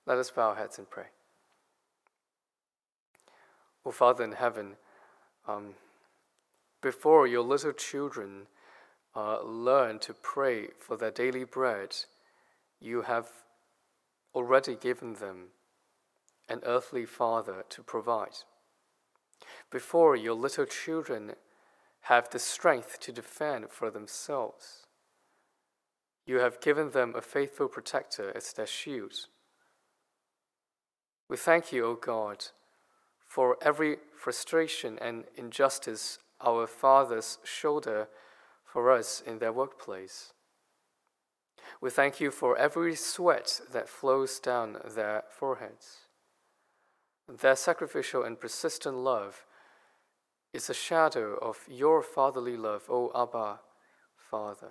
Let us bow our heads and pray. O Father in heaven, before your little children learn to pray for their daily bread, you have already given them an earthly Father to provide. Before your little children have the strength to defend for themselves, you have given them a faithful protector as their shield. We thank you, O God, for every frustration and injustice our fathers shoulder for us in their workplace. We thank you for every sweat that flows down their foreheads. Their sacrificial and persistent love is a shadow of your fatherly love, O Abba, Father.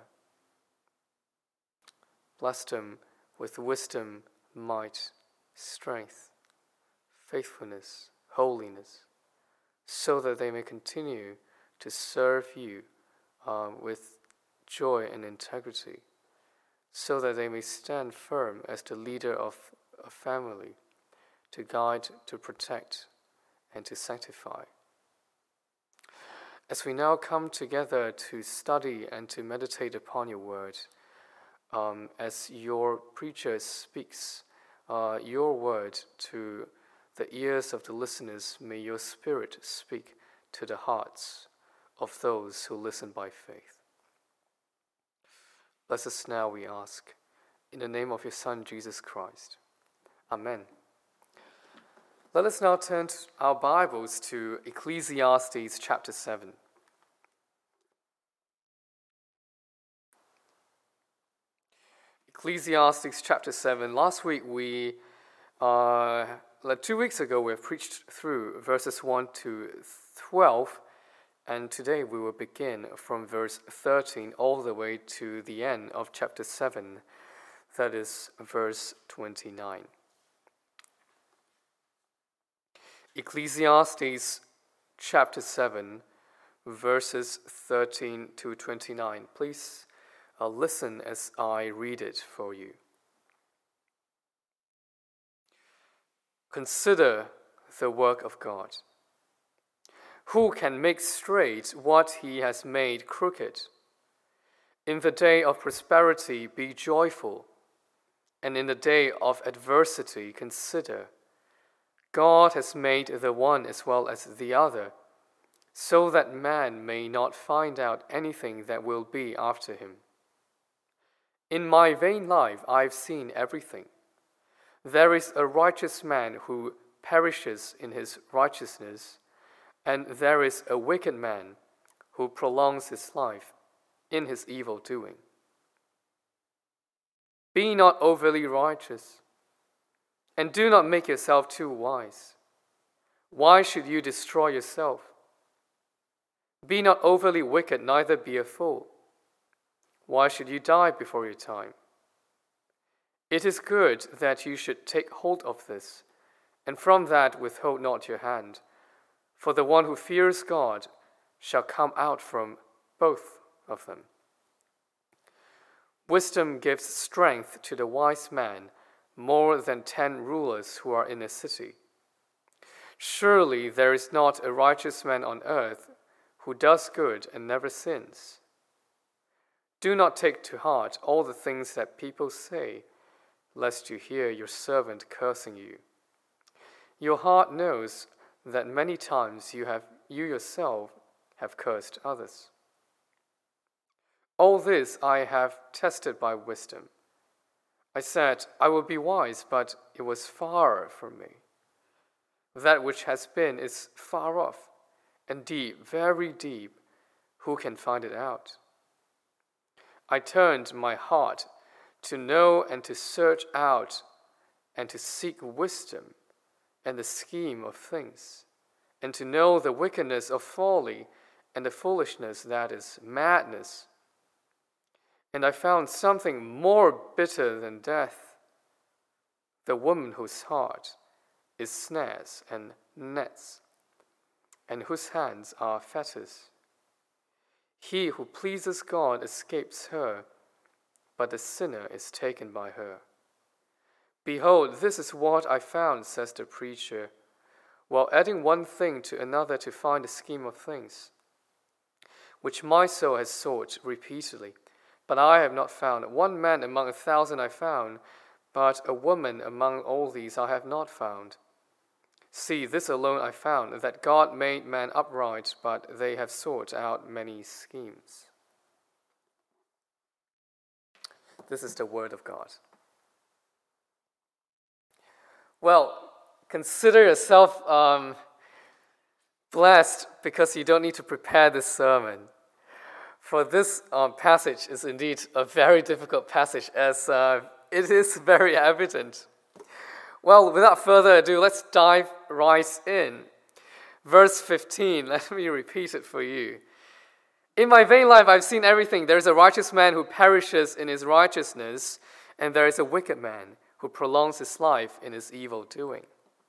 Bless them with wisdom, might, strength, faithfulness, holiness, so that they may continue to serve you with joy and integrity, so that they may stand firm as the leader of a family, to guide, to protect, and to sanctify. As we now come together to study and to meditate upon your word, as your preacher speaks your word to the ears of the listeners, may your Spirit speak to the hearts of those who listen by faith. Bless us now, we ask, in the name of your Son, Jesus Christ. Amen. Let us now turn our Bibles to Ecclesiastes chapter 7. Ecclesiastes chapter 7. Last week 2 weeks ago, we have preached through verses 1 to 12, and today we will begin from verse 13 all the way to the end of chapter 7, that is verse 29. Ecclesiastes chapter 7, verses 13 to 29. Please listen as I read it for you. Consider the work of God. Who can make straight what he has made crooked? In the day of prosperity be joyful, and in the day of adversity consider. God has made the one as well as the other, so that man may not find out anything that will be after him. In my vain life I have seen everything. There is a righteous man who perishes in his righteousness, and there is a wicked man who prolongs his life in his evil doing. Be not overly righteous, and do not make yourself too wise. Why should you destroy yourself? Be not overly wicked, neither be a fool. Why should you die before your time? It is good that you should take hold of this, and from that withhold not your hand. For the one who fears God shall come out from both of them. Wisdom gives strength to the wise man more than 10 rulers who are in a city. Surely there is not a righteous man on earth who does good and never sins. Do not take to heart all the things that people say, lest you hear your servant cursing you. Your heart knows that many times you yourself have cursed others. All this I have tested by wisdom. I said, I will be wise, but it was far from me. That which has been is far off, and deep, very deep. Who can find it out? I turned my heart to know and to search out and to seek wisdom and the scheme of things, and to know the wickedness of folly and the foolishness that is madness. And I found something more bitter than death, the woman whose heart is snares and nets, and whose hands are fetters. He who pleases God escapes her, but the sinner is taken by her. Behold, this is what I found, says the preacher, while adding one thing to another to find a scheme of things, which my soul has sought repeatedly, but I have not found. One man among 1,000 I found, but a woman among all these I have not found. See, this alone I found, that God made man upright, but they have sought out many schemes. This is the word of God. Well, consider yourself blessed because you don't need to prepare this sermon. For this passage is indeed a very difficult passage, as it is very evident. Well, without further ado, let's dive right in. Verse 15, let me repeat it for you. In my vain life I've seen everything. There is a righteous man who perishes in his righteousness, and there is a wicked man who prolongs his life in his evil doing.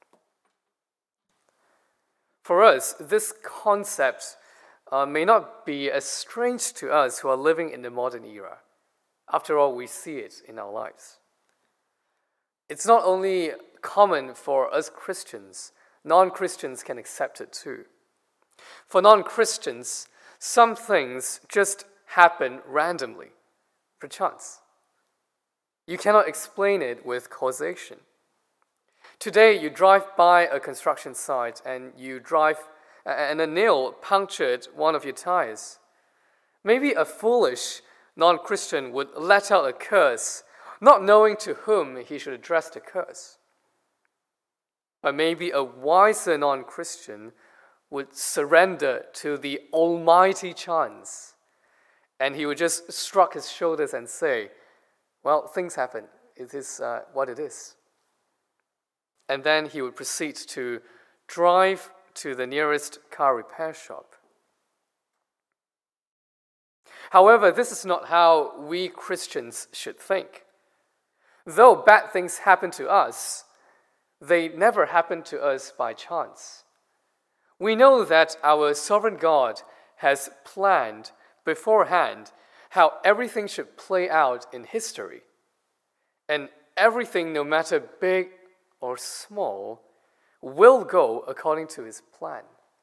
For us, this concept may not be as strange to us who are living in the modern era. After all, we see it in our lives. It's not only common for us Christians, non-Christians can accept it too. For non-Christians, some things just happen randomly, perchance. You cannot explain it with causation. Today, you drive by a construction site and a nail punctured one of your tires. Maybe a foolish non-Christian would let out a curse, not knowing to whom he should address the curse. But maybe a wiser non-Christian would surrender to the almighty chance, and he would just shrug his shoulders and say, well, things happen. It is what it is. And then he would proceed to drive to the nearest car repair shop. However, this is not how we Christians should think. Though bad things happen to us, they never happen to us by chance. We know that our sovereign God has planned beforehand how everything should play out in history. And everything, no matter big or small, will go according to his plan.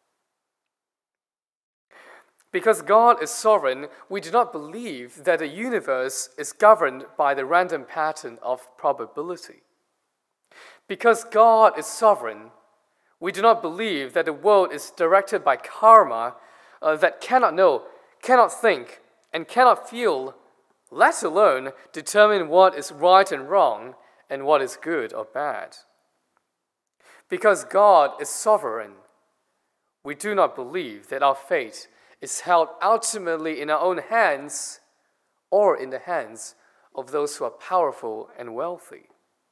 Because God is sovereign, we do not believe that the universe is governed by the random pattern of probability. Because God is sovereign, we do not believe that the world is directed by karma that cannot know, cannot think, and cannot feel, let alone determine what is right and wrong and what is good or bad. Because God is sovereign, we do not believe that our fate is held ultimately in our own hands or in the hands of those who are powerful and wealthy.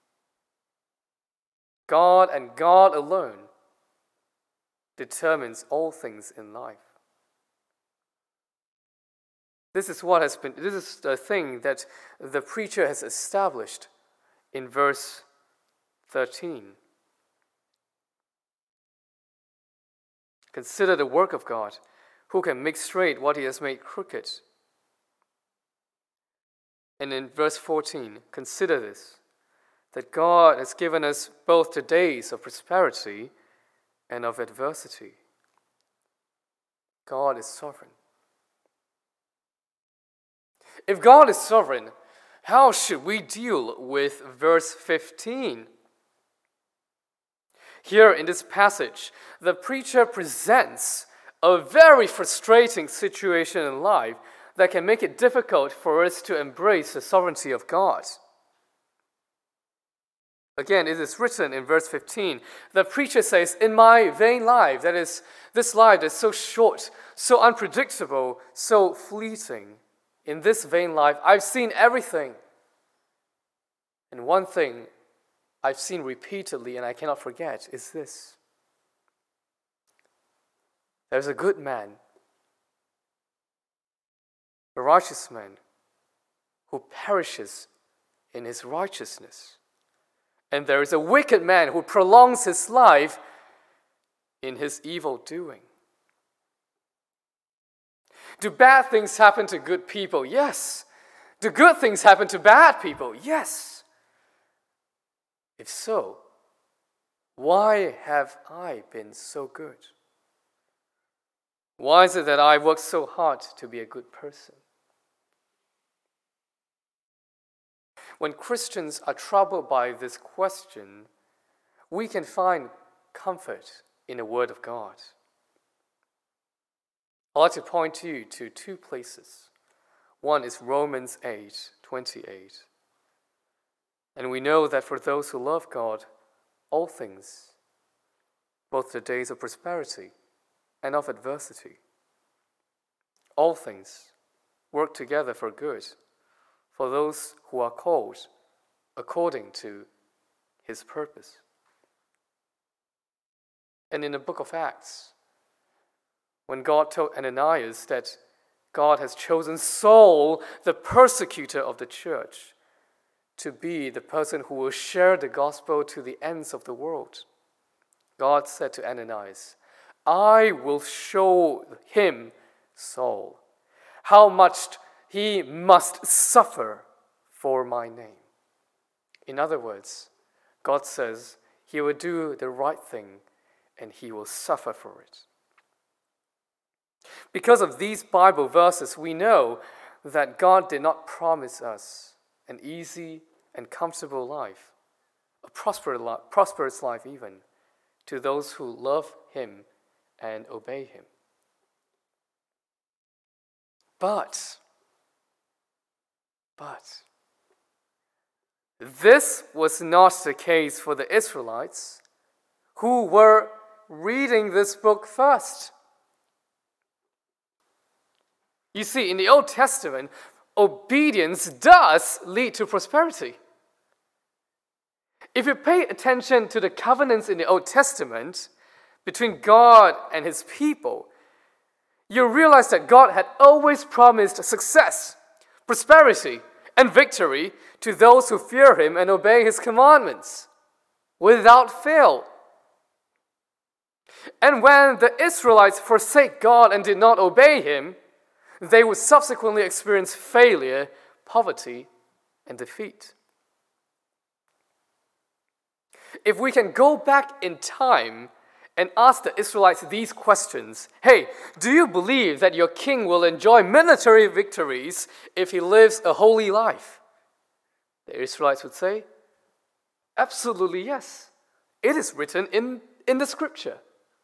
God and God alone determines all things in life. This is the thing that the preacher has established in verse 13. Consider the work of God, who can make straight what he has made crooked. And in verse 14, consider this, that God has given us both the days of prosperity and of adversity. God is sovereign. If God is sovereign, how should we deal with verse 15? Here in this passage, the preacher presents a very frustrating situation in life that can make it difficult for us to embrace the sovereignty of God. Again, it is written in verse 15, the preacher says, in my vain life, that is, this life that is so short, so unpredictable, so fleeting, in this vain life, I've seen everything. And one thing I've seen repeatedly and I cannot forget is this. There's a good man, a righteous man, who perishes in his righteousness. And there is a wicked man who prolongs his life in his evil doing. Do bad things happen to good people? Yes. Do good things happen to bad people? Yes. If so, why have I been so good? Why is it that I work so hard to be a good person? When Christians are troubled by this question, we can find comfort in the Word of God. I'd like to point you to two places. One is Romans 8:28. And we know that for those who love God, all things, both the days of prosperity and of adversity, all things work together for good for those who are called according to His purpose. And in the book of Acts, when God told Ananias that God has chosen Saul, the persecutor of the church, to be the person who will share the gospel to the ends of the world, God said to Ananias, I will show him, Saul, how much he must suffer for my name. In other words, God says he will do the right thing and he will suffer for it. Because of these Bible verses, we know that God did not promise us an easy and comfortable life, a prosperous life even, to those who love Him and obey Him. But this was not the case for the Israelites who were reading this book first. You see, in the Old Testament, obedience does lead to prosperity. If you pay attention to the covenants in the Old Testament between God and His people, you realize that God had always promised success, prosperity, and victory to those who fear Him and obey His commandments, without fail. And when the Israelites forsake God and did not obey Him, they would subsequently experience failure, poverty, and defeat. If we can go back in time and ask the Israelites these questions, hey, do you believe that your king will enjoy military victories if he lives a holy life? The Israelites would say, absolutely yes. It is written in the scripture.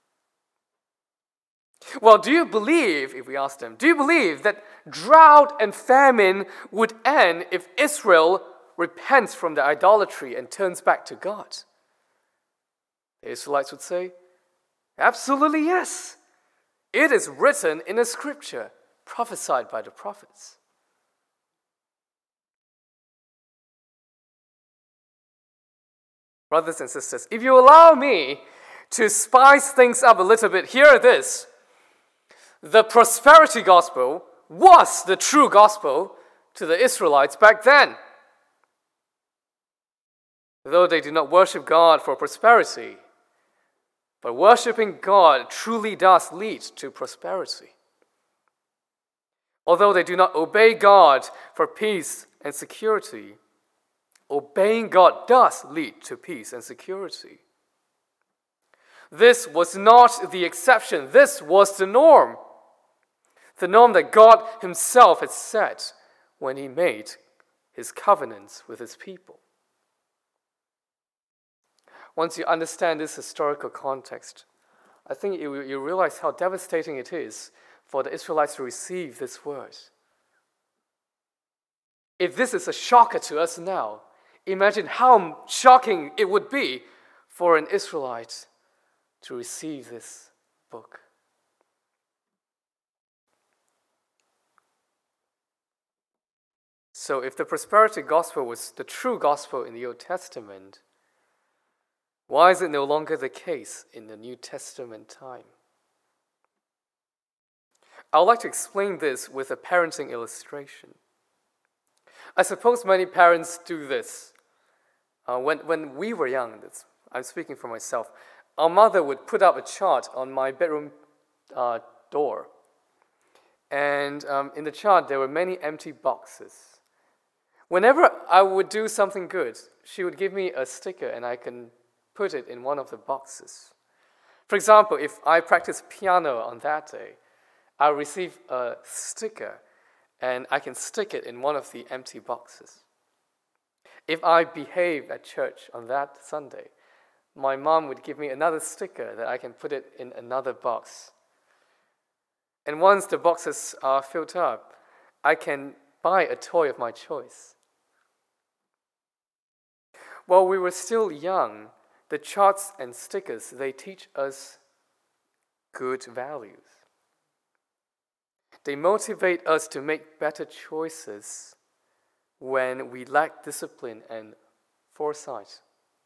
Well, do you believe, if we ask them, do you believe that drought and famine would end if Israel repents from their idolatry and turns back to God? The Israelites would say, absolutely yes. It is written in the scripture, prophesied by the prophets. Brothers and sisters, if you allow me to spice things up a little bit, here it is. The prosperity gospel was the true gospel to the Israelites back then. Though they did not worship God for prosperity, but worshiping God truly does lead to prosperity. Although they do not obey God for peace and security, obeying God does lead to peace and security. This was not the exception. This was the norm. The norm that God Himself had set when He made His covenants with His people. Once you understand this historical context, I think you realize how devastating it is for the Israelites to receive this word. If this is a shocker to us now, imagine how shocking it would be for an Israelite to receive this book. So if the prosperity gospel was the true gospel in the Old Testament, why is it no longer the case in the New Testament time? I would like to explain this with a parenting illustration. I suppose many parents do this. When we were young, I'm speaking for myself, our mother would put up a chart on my bedroom door. And in the chart, there were many empty boxes. Whenever I would do something good, she would give me a sticker and I can put it in one of the boxes. For example, if I practice piano on that day, I'll receive a sticker and I can stick it in one of the empty boxes. If I behave at church on that Sunday, my mom would give me another sticker that I can put it in another box. And once the boxes are filled up, I can buy a toy of my choice. While we were still young, the charts and stickers, they teach us good values. They motivate us to make better choices when we lack discipline and foresight.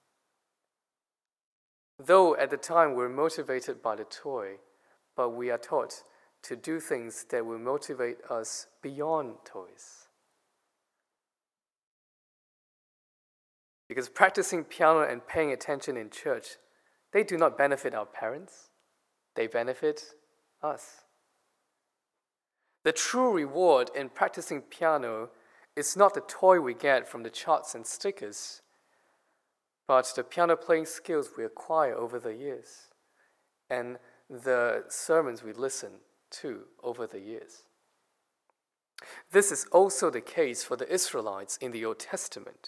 Though at the time we're motivated by the toy, but we are taught to do things that will motivate us beyond toys. Because practicing piano and paying attention in church, they do not benefit our parents, they benefit us. The true reward in practicing piano is not the toy we get from the charts and stickers, but the piano playing skills we acquire over the years and the sermons we listen to over the years. This is also the case for the Israelites in the Old Testament.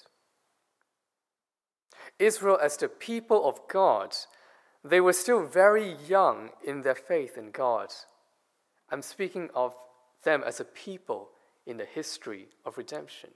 Israel, as the people of God, they were still very young in their faith in God. I'm speaking of them as a people in the history of redemption.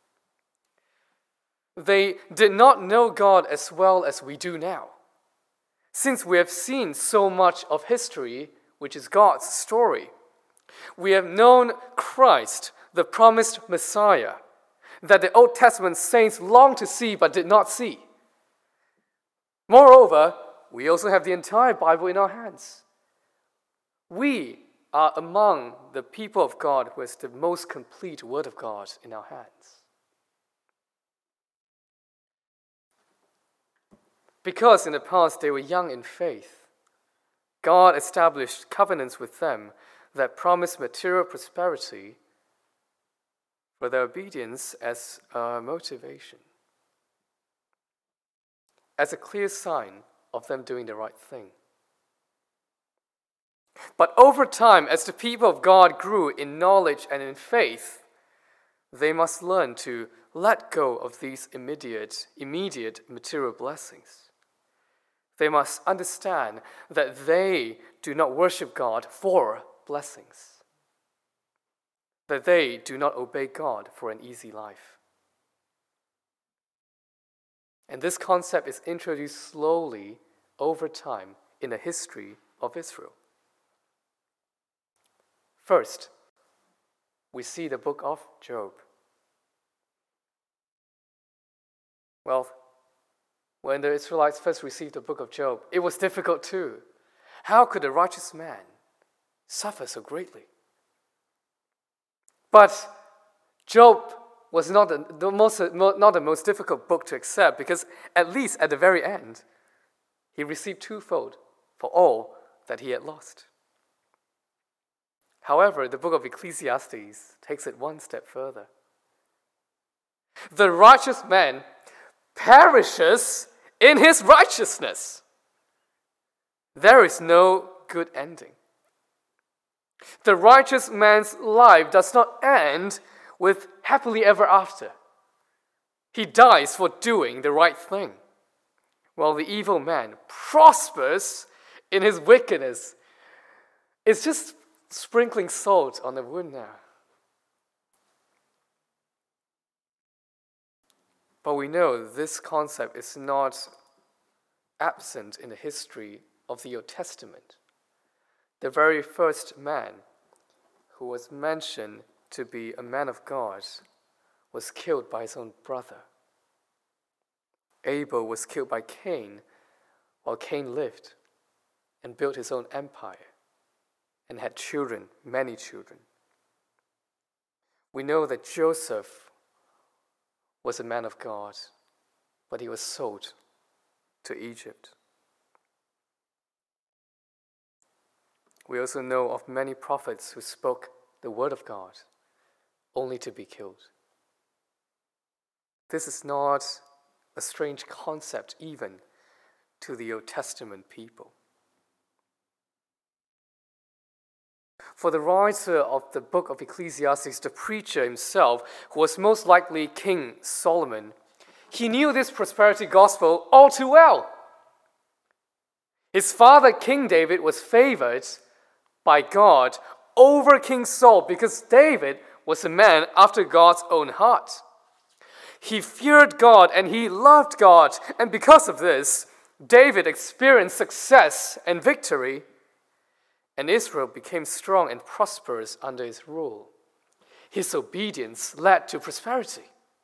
They did not know God as well as we do now. Since we have seen so much of history, which is God's story, we have known Christ, the promised Messiah, that the Old Testament saints longed to see but did not see. Moreover, we also have the entire Bible in our hands. We are among the people of God who has the most complete Word of God in our hands. Because in the past they were young in faith, God established covenants with them that promised material prosperity for their obedience as a motivation, as a clear sign of them doing the right thing. But over time, as the people of God grew in knowledge and in faith, they must learn to let go of these immediate material blessings. They must understand that they do not worship God for blessings, that they do not obey God for an easy life. And this concept is introduced slowly over time in the history of Israel. First, we see the book of Job. Well, when the Israelites first received the book of Job, it was difficult too. How could a righteous man suffer so greatly? But Job was not the most difficult book to accept, because at least at the very end, he received twofold for all that he had lost. However, the book of Ecclesiastes takes it one step further. The righteous man perishes in his righteousness. There is no good ending. The righteous man's life does not end with happily ever after. He dies for doing the right thing, while the evil man prospers in his wickedness. It's just sprinkling salt on the wound now. But we know this concept is not absent in the history of the Old Testament. The very first man who was mentioned to be a man of God was killed by his own brother. Abel was killed by Cain while Cain lived and built his own empire and had children, many children. We know that Joseph was a man of God, but he was sold to Egypt. We also know of many prophets who spoke the word of God only to be killed. This is not a strange concept even to the Old Testament people. For the writer of the book of Ecclesiastes, the preacher himself, who was most likely King Solomon, he knew this prosperity gospel all too well. His father, King David, was favored by God over King Saul because David was a man after God's own heart. He feared God and he loved God, and because of this, David experienced success and victory, and Israel became strong and prosperous under his rule. His obedience led to prosperity.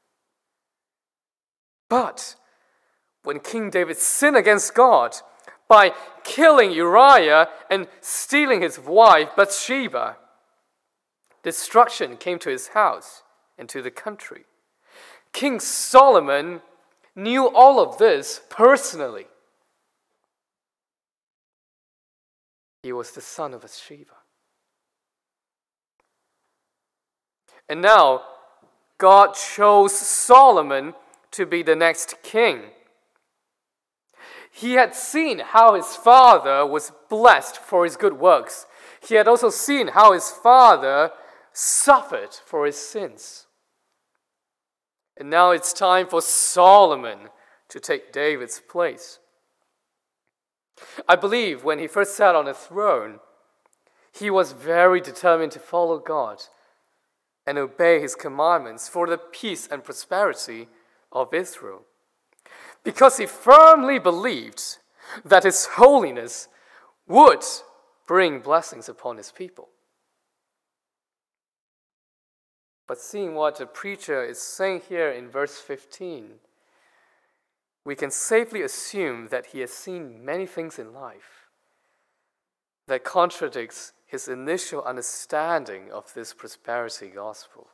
But when King David sinned against God by killing Uriah and stealing his wife Bathsheba, destruction came to his house and to the country. King Solomon knew all of this personally. He was the son of Bathsheba. And now, God chose Solomon to be the next king. He had seen how his father was blessed for his good works. He had also seen how his father suffered for his sins. And now it's time for Solomon to take David's place. I believe when he first sat on the throne, he was very determined to follow God and obey his commandments for the peace and prosperity of Israel, because he firmly believed that his holiness would bring blessings upon his people. But seeing what the preacher is saying here in verse 15, we can safely assume that he has seen many things in life that contradicts his initial understanding of this prosperity gospel.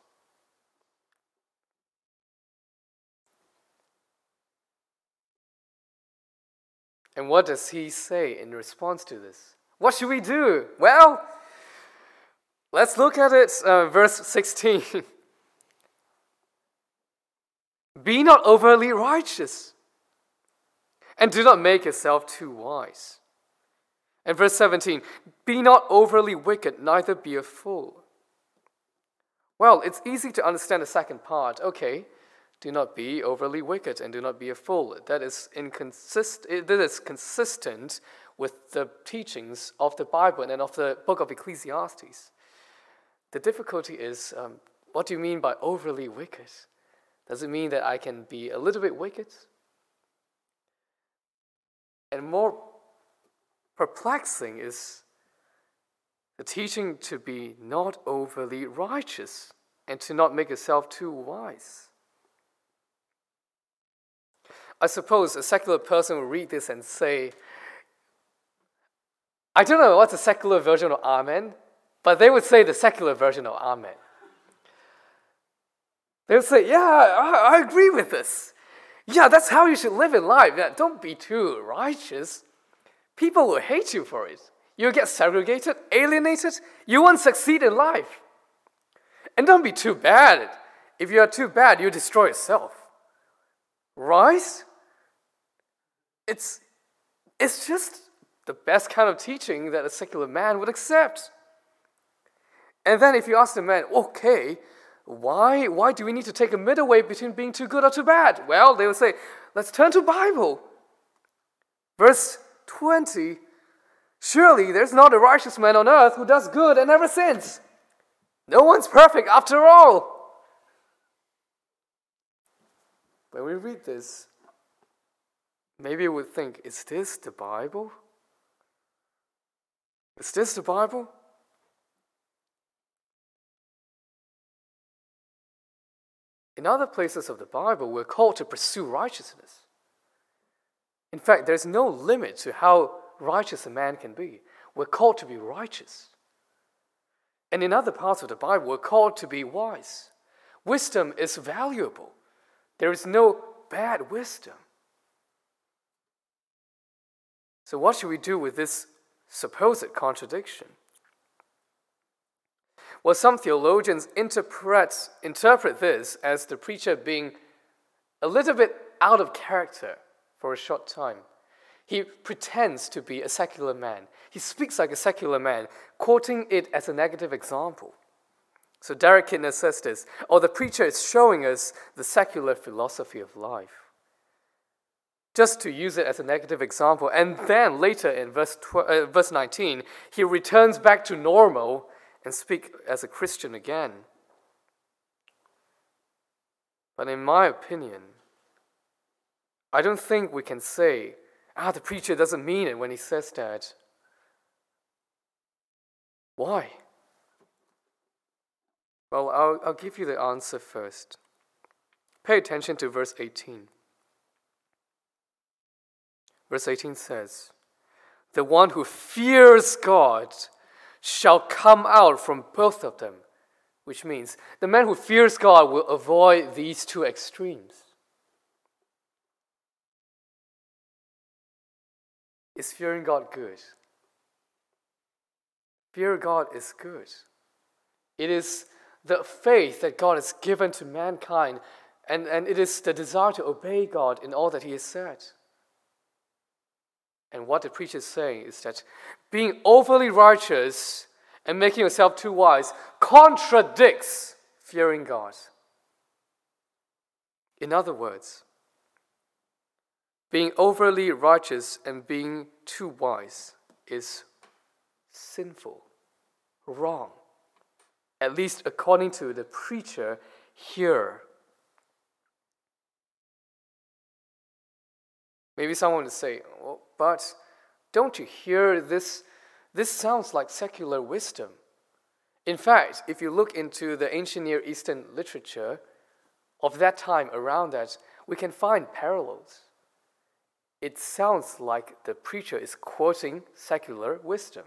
And what does he say in response to this? What should we do? Well, let's look at it, verse 16. Be not overly righteous, and do not make yourself too wise. And verse 17, be not overly wicked, neither be a fool. Well, it's easy to understand the second part. Okay, do not be overly wicked and do not be a fool. That is consistent with the teachings of the Bible and of the book of Ecclesiastes. The difficulty is, what do you mean by overly wicked? Does it mean that I can be a little bit wicked? And more perplexing is the teaching to be not overly righteous and to not make yourself too wise. I suppose a secular person will read this and say, I don't know what's the secular version of Amen, but they would say the secular version of Amen. They would say, yeah, I agree with this. Yeah, that's how you should live in life. Yeah, don't be too righteous. People will hate you for it. You'll get segregated, alienated. You won't succeed in life. And don't be too bad. If you are too bad, you destroy yourself. Right? It's just the best kind of teaching that a secular man would accept. And then if you ask the man, okay, why do we need to take a middle way between being too good or too bad? Well, they will say, let's turn to Bible. Verse 20, surely there's not a righteous man on earth who does good and never sins. No one's perfect after all. When we read this, maybe we would think, is this the Bible? Is this the Bible? In other places of the Bible, we're called to pursue righteousness. In fact, there's no limit to how righteous a man can be. We're called to be righteous. And in other parts of the Bible, we're called to be wise. Wisdom is valuable. There is no bad wisdom. So what should we do with this supposed contradiction? Well, some theologians interpret this as the preacher being a little bit out of character for a short time. He pretends to be a secular man. He speaks like a secular man, quoting it as a negative example. So Derek Kidner says this, or the preacher is showing us the secular philosophy of life. Just to use it as a negative example, and then later in verse 19, he returns back to normal and speaks as a Christian again. But in my opinion, I don't think we can say, the preacher doesn't mean it when he says that. Why? Well, I'll give you the answer first. Pay attention to verse 18. Verse 18 says, "The one who fears God shall come out from both of them," which means the man who fears God will avoid these two extremes. Is fearing God good? Fear God is good. It is the faith that God has given to mankind, and it is the desire to obey God in all that He has said. And what the preacher is saying is that being overly righteous and making yourself too wise contradicts fearing God. In other words, being overly righteous and being too wise is sinful, wrong, at least according to the preacher here. Maybe someone would say, well, but don't you hear this? This sounds like secular wisdom. In fact, if you look into the ancient Near Eastern literature of that time around that, we can find parallels. It sounds like the preacher is quoting secular wisdom.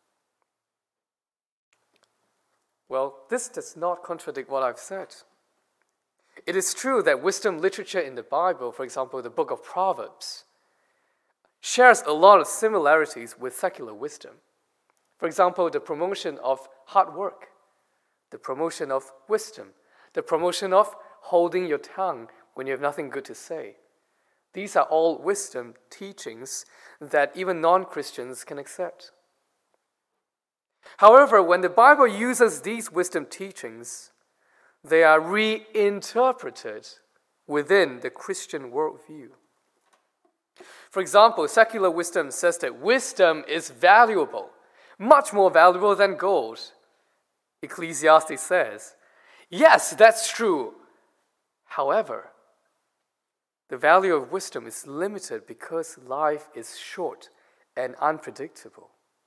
Well, this does not contradict what I've said. It is true that wisdom literature in the Bible, for example, the book of Proverbs, shares a lot of similarities with secular wisdom. For example, the promotion of hard work, the promotion of wisdom, the promotion of holding your tongue when you have nothing good to say. These are all wisdom teachings that even non-Christians can accept. However, when the Bible uses these wisdom teachings, they are reinterpreted within the Christian worldview. For example, secular wisdom says that wisdom is valuable, much more valuable than gold. Ecclesiastes says, yes, that's true. However, the value of wisdom is limited because life is short and unpredictable.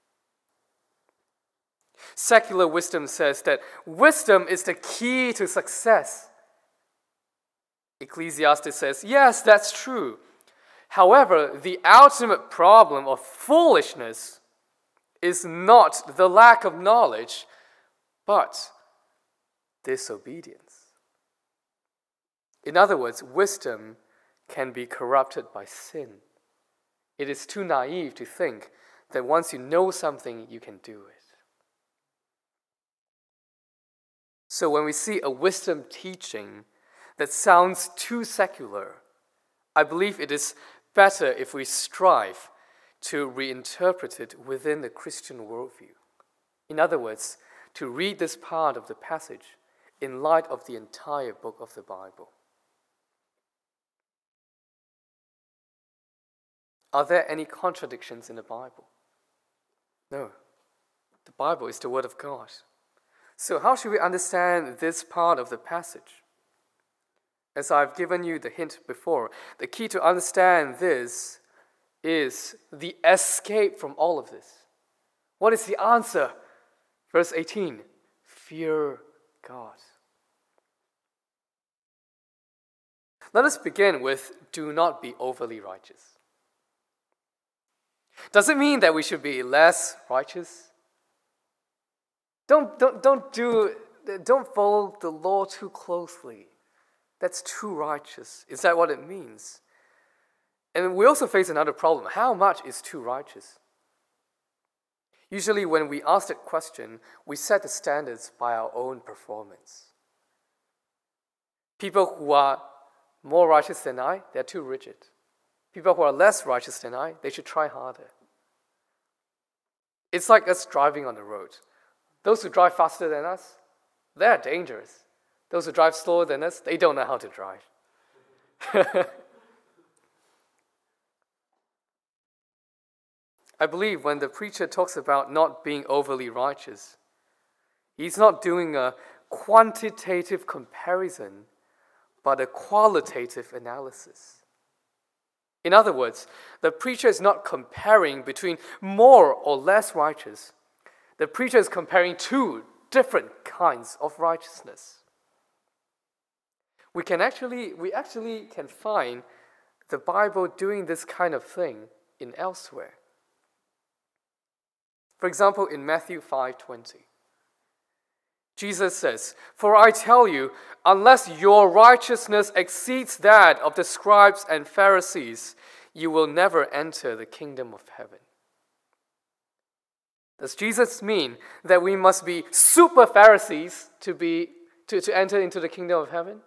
Secular wisdom says that wisdom is the key to success. Ecclesiastes says, yes, that's true. However, the ultimate problem of foolishness is not the lack of knowledge, but disobedience. In other words, wisdom can be corrupted by sin. It is too naive to think that once you know something, you can do it. So when we see a wisdom teaching that sounds too secular, I believe it is better if we strive to reinterpret it within the Christian worldview. In other words, to read this part of the passage in light of the entire book of the Bible. Are there any contradictions in the Bible? No. The Bible is the Word of God. So how should we understand this part of the passage? As I've given you the hint before, the key to understand this is the escape from all of this. What is the answer? Verse 18, fear God. Let us begin with do not be overly righteous. Does it mean that we should be less righteous? Don't follow the law too closely. That's too righteous. Is that what it means? And we also face another problem. How much is too righteous? Usually when we ask that question, we set the standards by our own performance. People who are more righteous than I, they're too rigid. People who are less righteous than I, they should try harder. It's like us driving on the road. Those who drive faster than us, they're dangerous. Those who drive slower than us, they don't know how to drive. I believe when the preacher talks about not being overly righteous, he's not doing a quantitative comparison, but a qualitative analysis. In other words, the preacher is not comparing between more or less righteous. The preacher is comparing two different kinds of righteousness. We actually can find the Bible doing this kind of thing in elsewhere. For example, in Matthew 5:20, Jesus says, "For I tell you, unless your righteousness exceeds that of the scribes and Pharisees, you will never enter the kingdom of heaven." Does Jesus mean that we must be super Pharisees to enter into the kingdom of heaven?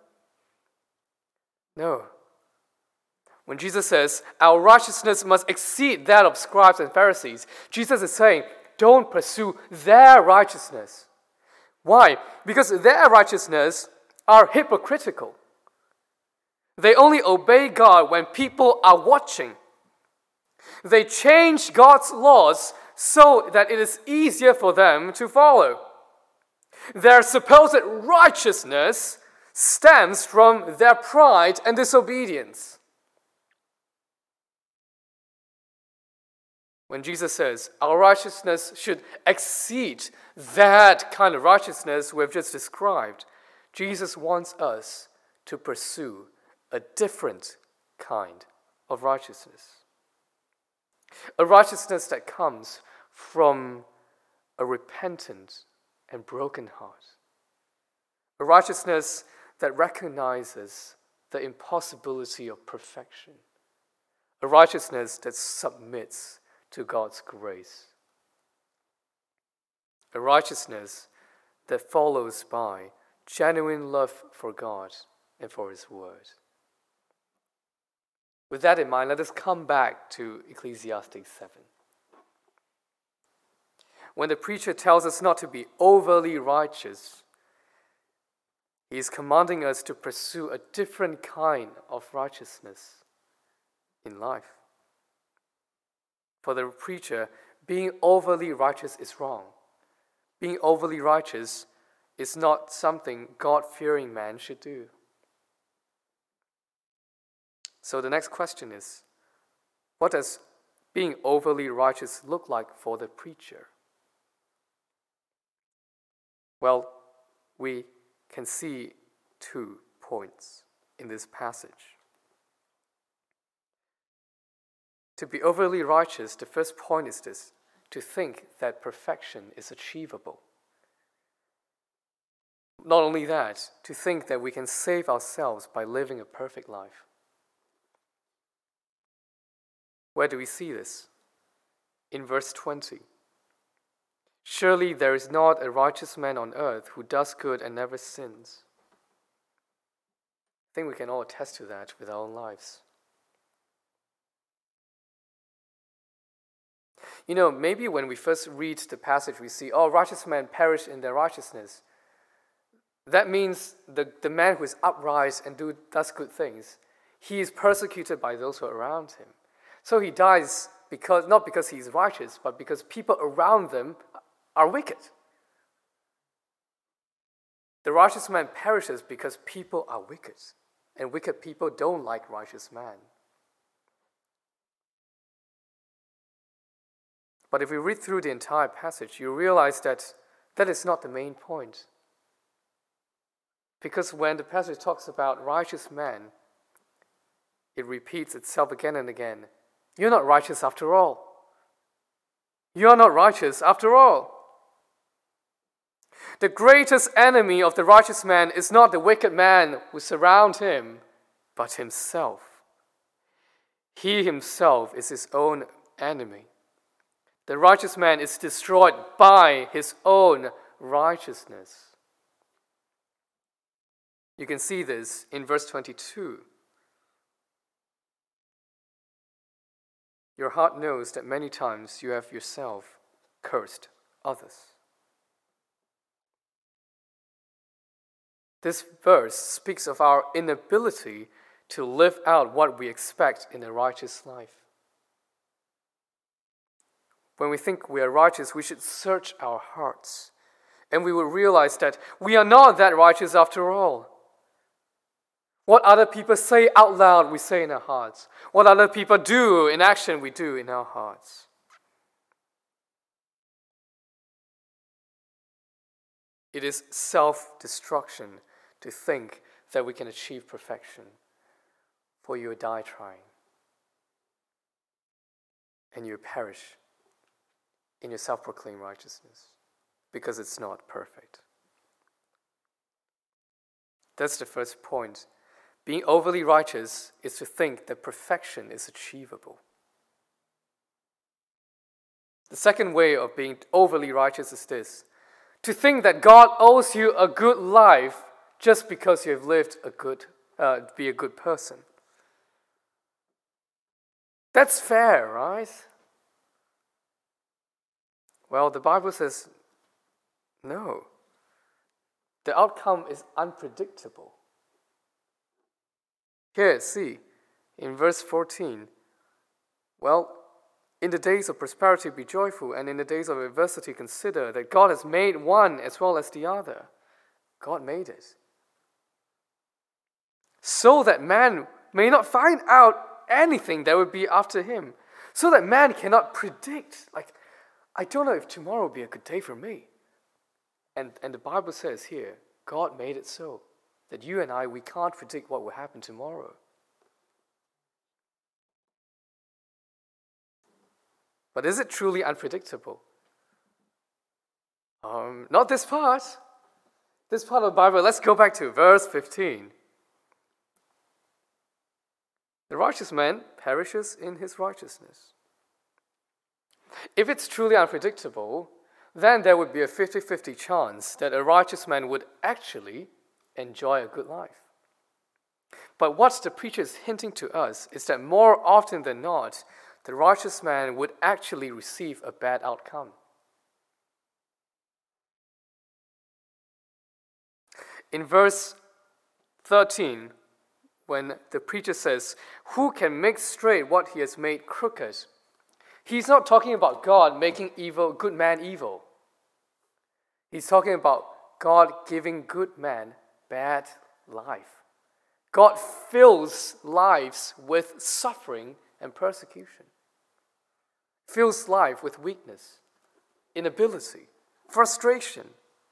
No. When Jesus says our righteousness must exceed that of scribes and Pharisees, Jesus is saying, don't pursue their righteousness. Why? Because their righteousness are hypocritical. They only obey God when people are watching. They change God's laws so that it is easier for them to follow. Their supposed righteousness stems from their pride and disobedience. When Jesus says our righteousness should exceed that kind of righteousness we've just described, Jesus wants us to pursue a different kind of righteousness. A righteousness that comes from a repentant and broken heart. A righteousness that recognizes the impossibility of perfection. A righteousness that submits to God's grace. A righteousness that follows by genuine love for God and for His Word. With that in mind, let us come back to Ecclesiastes 7. When the preacher tells us not to be overly righteous, he is commanding us to pursue a different kind of righteousness in life. For the preacher, being overly righteous is wrong. Being overly righteous is not something God-fearing man should do. So the next question is, what does being overly righteous look like for the preacher? Well, we can see 2 points in this passage. To be overly righteous, the first point is this: to think that perfection is achievable. Not only that, to think that we can save ourselves by living a perfect life. Where do we see this? In verse 20. Surely there is not a righteous man on earth who does good and never sins. I think we can all attest to that with our own lives. You know, maybe when we first read the passage, we see, righteous men perish in their righteousness. That means the man who is upright and does good things, he is persecuted by those who are around him. So he dies not because he's righteous, but because people around them are wicked. The righteous man perishes because people are wicked, and wicked people don't like righteous man. But if we read through the entire passage, you realize that is not the main point. Because when the passage talks about righteous men, it repeats itself again and again. You're not righteous after all. You are not righteous after all. The greatest enemy of the righteous man is not the wicked man who surrounds him, but himself. He himself is his own enemy. The righteous man is destroyed by his own righteousness. You can see this in verse 22. Your heart knows that many times you have yourself cursed others. This verse speaks of our inability to live out what we expect in a righteous life. When we think we are righteous, we should search our hearts, and we will realize that we are not that righteous after all. What other people say out loud, we say in our hearts. What other people do in action, we do in our hearts. It is self-destruction to think that we can achieve perfection, for you will die trying, and you will perish in your self-proclaimed righteousness, because it's not perfect. That's the first point. Being overly righteous is to think that perfection is achievable. The second way of being overly righteous is this: to think that God owes you a good life just because you have lived be a good person. That's fair, right? Well, the Bible says no. The outcome is unpredictable. Here, see, in verse 14, well, in the days of prosperity be joyful, and in the days of adversity consider that God has made one as well as the other. God made it. So that man may not find out anything that would be after him. So that man cannot predict, I don't know if tomorrow will be a good day for me. And the Bible says here, God made it so that you and I, we can't predict what will happen tomorrow. But is it truly unpredictable? Not this part. This part of the Bible, let's go back to verse 15. The righteous man perishes in his righteousness. If it's truly unpredictable, then there would be a 50-50 chance that a righteous man would actually enjoy a good life. But what the preacher is hinting to us is that more often than not, the righteous man would actually receive a bad outcome. In verse 13, when the preacher says, "Who can make straight what he has made crooked?" He's not talking about God making good man evil. He's talking about God giving good man bad life. God fills lives with suffering and persecution. Fills life with weakness, inability, frustration.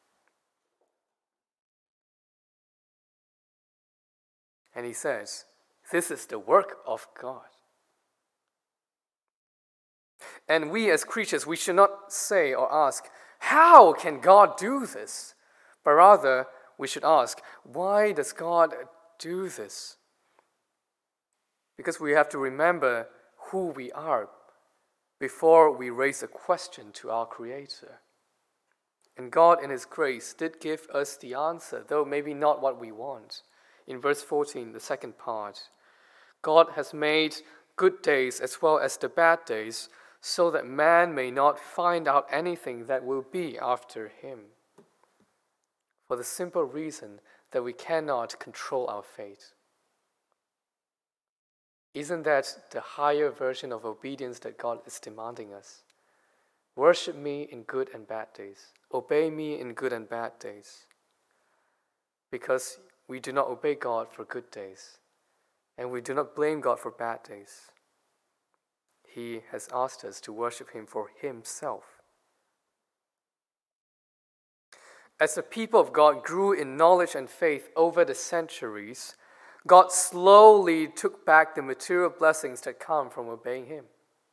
And he says, this is the work of God. And we as creatures, we should not say or ask, how can God do this? But rather, we should ask, why does God do this? Because we have to remember who we are before we raise a question to our Creator. And God, in His grace, did give us the answer, though maybe not what we want. In verse 14, the second part, God has made good days as well as the bad days, so that man may not find out anything that will be after him. For the simple reason that we cannot control our fate. Isn't that the higher version of obedience that God is demanding us? Worship me in good and bad days. Obey me in good and bad days. Because we do not obey God for good days, and we do not blame God for bad days. He has asked us to worship Him for Himself. As the people of God grew in knowledge and faith over the centuries, God slowly took back the material blessings that come from obeying Him.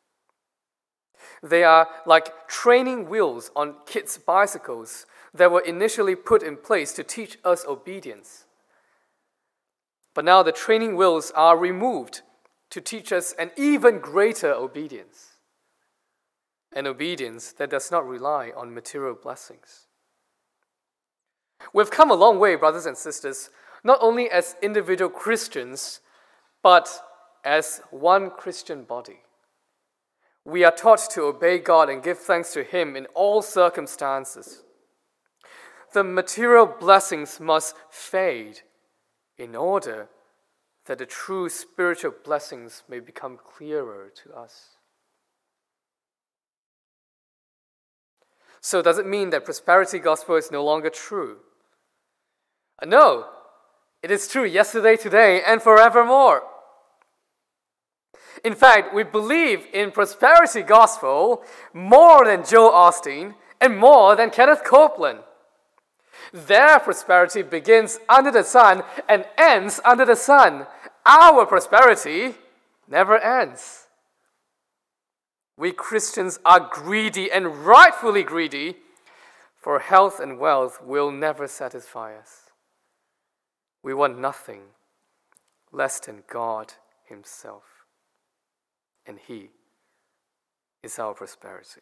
They are like training wheels on kids' bicycles that were initially put in place to teach us obedience. But now the training wheels are removed to teach us an even greater obedience. An obedience that does not rely on material blessings. We've come a long way, brothers and sisters, not only as individual Christians, but as one Christian body. We are taught to obey God and give thanks to Him in all circumstances. The material blessings must fade in order that the true spiritual blessings may become clearer to us. So does it mean that prosperity gospel is no longer true? No, it is true yesterday, today, and forevermore. In fact, we believe in prosperity gospel more than Joel Osteen and more than Kenneth Copeland. Their prosperity begins under the sun and ends under the sun. Our prosperity never ends. We Christians are greedy and rightfully greedy, for health and wealth will never satisfy us. We want nothing less than God Himself, and He is our prosperity.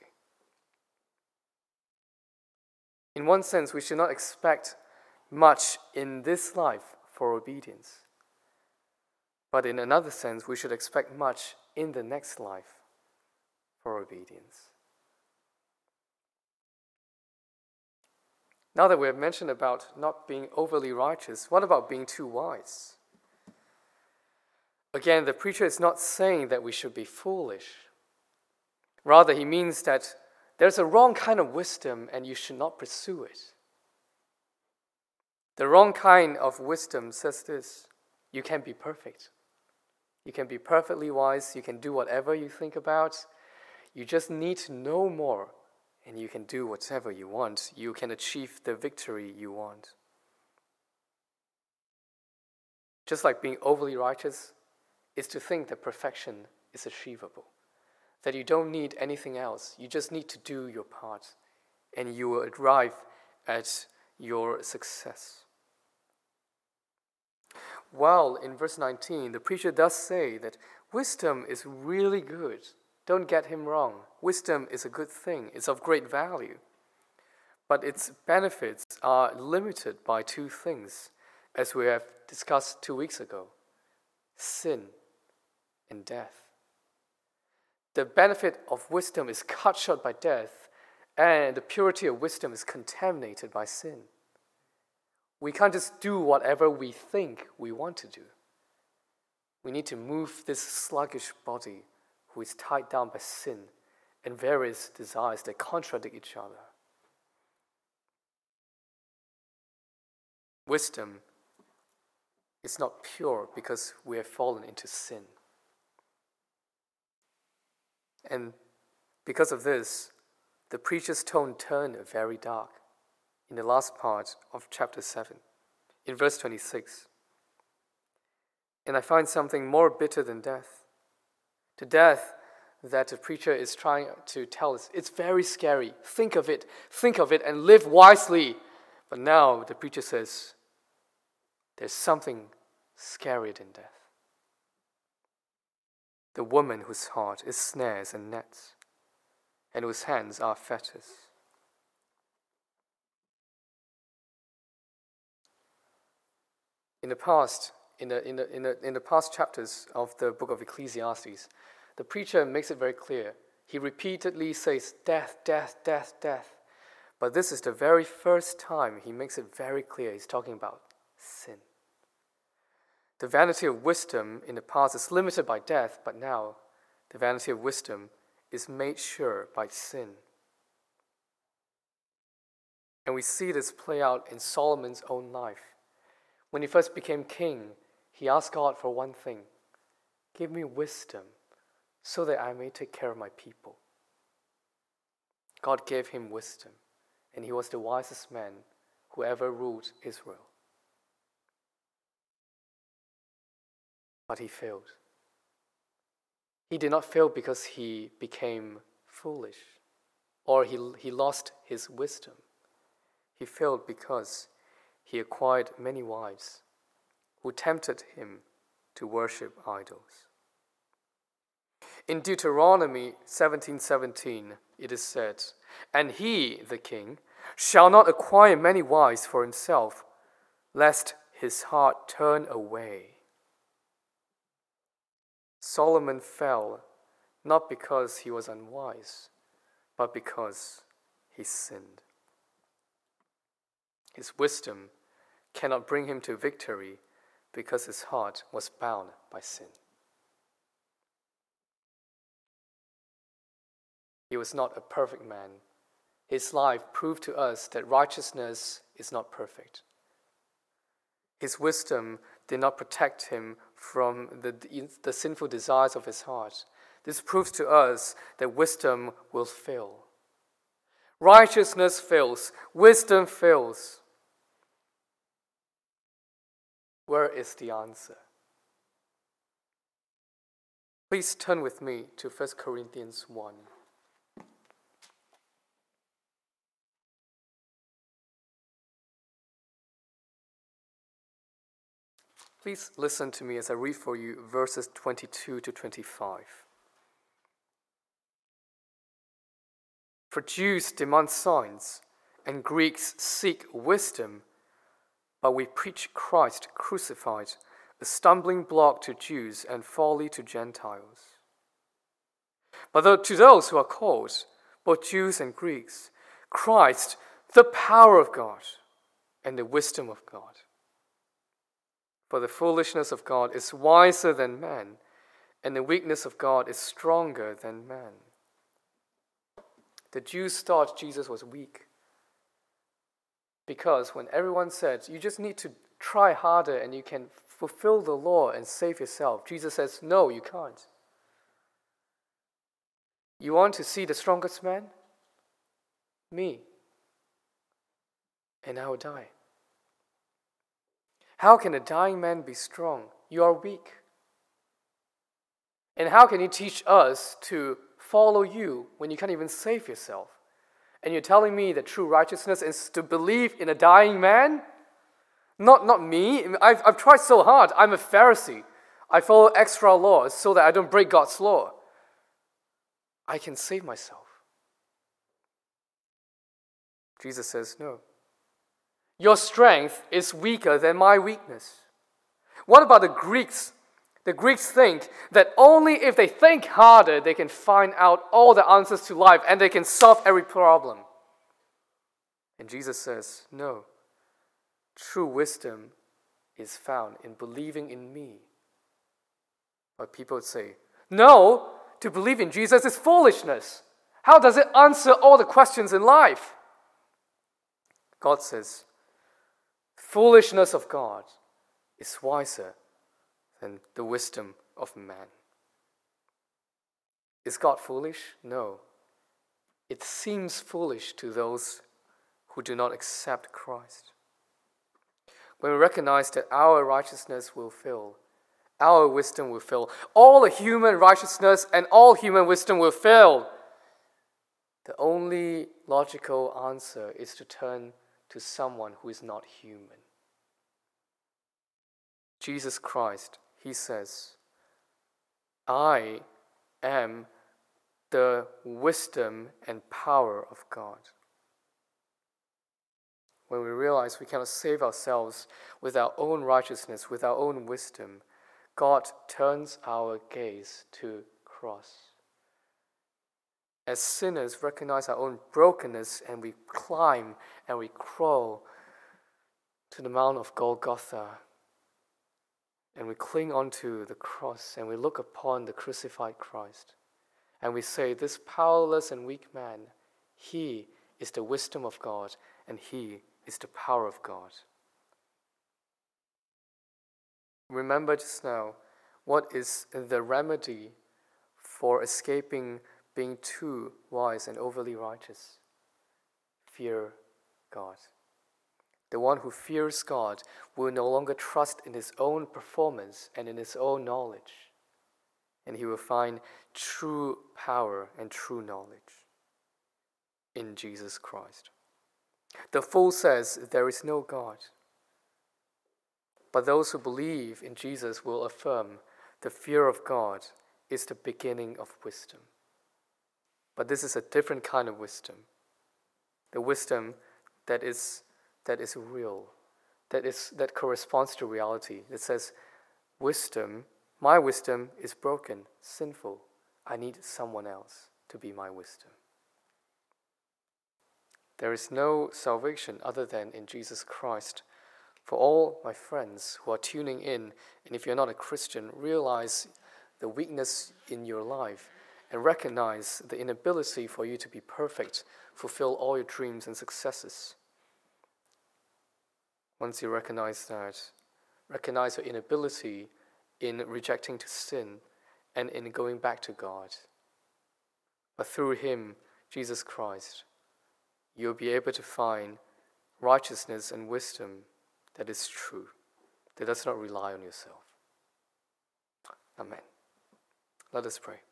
In one sense, we should not expect much in this life for obedience. But in another sense, we should expect much in the next life for obedience. Now that we have mentioned about not being overly righteous, what about being too wise? Again, the preacher is not saying that we should be foolish. Rather, he means that there's a wrong kind of wisdom and you should not pursue it. The wrong kind of wisdom says this: you can be perfect. You can be perfectly wise. You can do whatever you think about. You just need to know more, and you can do whatever you want. You can achieve the victory you want. Just like being overly righteous is to think that perfection is achievable, that you don't need anything else. You just need to do your part, and you will arrive at your success. While in verse 19, the preacher does say that wisdom is really good. Don't get him wrong. Wisdom is a good thing. It's of great value. But its benefits are limited by two things, as we have discussed 2 weeks ago: sin and death. The benefit of wisdom is cut short by death, and the purity of wisdom is contaminated by sin. We can't just do whatever we think we want to do. We need to move this sluggish body who is tied down by sin and various desires that contradict each other. Wisdom is not pure because we have fallen into sin. And because of this, the preacher's tone turned very dark in the last part of chapter 7, in verse 26. And I find something more bitter than death. The death that the preacher is trying to tell us, it's very scary. Think of it, and live wisely. But now the preacher says, there's something scarier than death. The woman whose heart is snares and nets, and whose hands are fetters. In the past chapters of the book of Ecclesiastes, the preacher makes it very clear. He repeatedly says, death, death, death, death. But this is the very first time he makes it very clear he's talking about sin. The vanity of wisdom in the past is limited by death, but now the vanity of wisdom is made sure by sin. And we see this play out in Solomon's own life. When he first became king, he asked God for one thing: give me wisdom so that I may take care of my people. God gave him wisdom, and he was the wisest man who ever ruled Israel. But he failed. He did not fail because he became foolish or he lost his wisdom. He failed because he acquired many wives who tempted him to worship idols. In Deuteronomy 17:17, it is said, "And he, the king, shall not acquire many wives for himself, lest his heart turn away." Solomon fell not because he was unwise, but because he sinned. His wisdom cannot bring him to victory because his heart was bound by sin. He was not a perfect man. His life proved to us that righteousness is not perfect. His wisdom did not protect him from the sinful desires of his heart. This proves to us that wisdom will fail. Righteousness fails. Wisdom fails. Where is the answer? Please turn with me to 1 Corinthians 1. Please listen to me as I read for you verses 22 to 25. For Jews demand signs, and Greeks seek wisdom, but we preach Christ crucified, a stumbling block to Jews and folly to Gentiles. But to those who are called, both Jews and Greeks, Christ, the power of God and the wisdom of God. For the foolishness of God is wiser than man, and the weakness of God is stronger than man. The Jews thought Jesus was weak because when everyone said, you just need to try harder and you can fulfill the law and save yourself, Jesus says, no, you can't. You want to see the strongest man? Me. And I will die. How can a dying man be strong? You are weak. And how can you teach us to follow you when you can't even save yourself? And you're telling me that true righteousness is to believe in a dying man? Not me. I've tried so hard. I'm a Pharisee. I follow extra laws so that I don't break God's law. I can save myself. Jesus says, no. Your strength is weaker than my weakness. What about the Greeks? The Greeks think that only if they think harder, they can find out all the answers to life and they can solve every problem. And Jesus says, no. True wisdom is found in believing in me. But people would say, no, to believe in Jesus is foolishness. How does it answer all the questions in life? God says, foolishness of God is wiser than the wisdom of man. Is God foolish? No. It seems foolish to those who do not accept Christ. When we recognize that our righteousness will fail, our wisdom will fail, all the human righteousness and all human wisdom will fail, the only logical answer is to turn to someone who is not human. Jesus Christ, he says, I am the wisdom and power of God. When we realize we cannot save ourselves with our own righteousness, with our own wisdom, God turns our gaze to cross. As sinners, recognize our own brokenness and we climb and we crawl to the Mount of Golgotha and we cling onto the cross and we look upon the crucified Christ and we say, this powerless and weak man, he is the wisdom of God and he is the power of God. Remember just now, what is the remedy for escaping being too wise and overly righteous? Fear God. The one who fears God will no longer trust in his own performance and in his own knowledge, and he will find true power and true knowledge in Jesus Christ. The fool says there is no God, but those who believe in Jesus will affirm the fear of God is the beginning of wisdom. But this is a different kind of wisdom. The wisdom that is real, that corresponds to reality. It says, wisdom, my wisdom is broken, sinful, I need someone else to be my wisdom. There is no salvation other than in Jesus Christ. For all my friends who are tuning in, and if you're not a Christian, realize the weakness in your life and recognize the inability for you to be perfect, fulfill all your dreams and successes. Once you recognize that, recognize your inability in rejecting to sin and in going back to God. But through Him, Jesus Christ, you'll be able to find righteousness and wisdom that is true, that does not rely on yourself. Amen. Let us pray.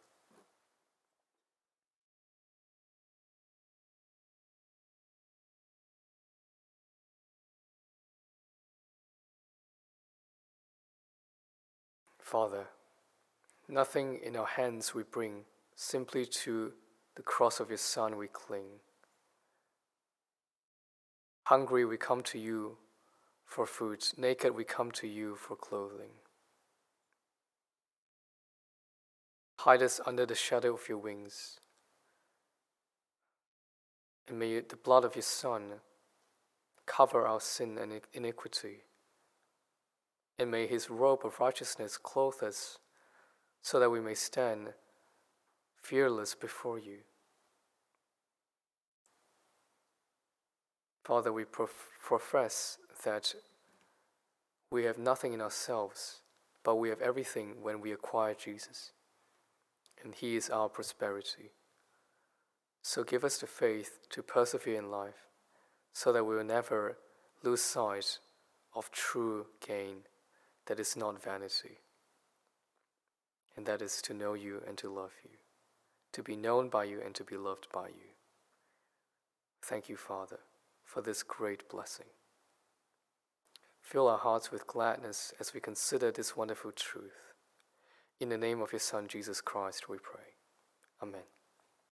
Father, nothing in our hands we bring, simply to the cross of your Son we cling. Hungry we come to you for food, naked we come to you for clothing. Hide us under the shadow of your wings, and may the blood of your Son cover our sin and iniquity, and may his robe of righteousness clothe us, so that we may stand fearless before you. Father, we profess that we have nothing in ourselves, but we have everything when we acquire Jesus, and He is our prosperity. So give us the faith to persevere in life, so that we will never lose sight of true gain that is not vanity, and that is to know you and to love you, to be known by you and to be loved by you. Thank you, Father, for this great blessing. Fill our hearts with gladness as we consider this wonderful truth. In the name of your Son, Jesus Christ, we pray. Amen.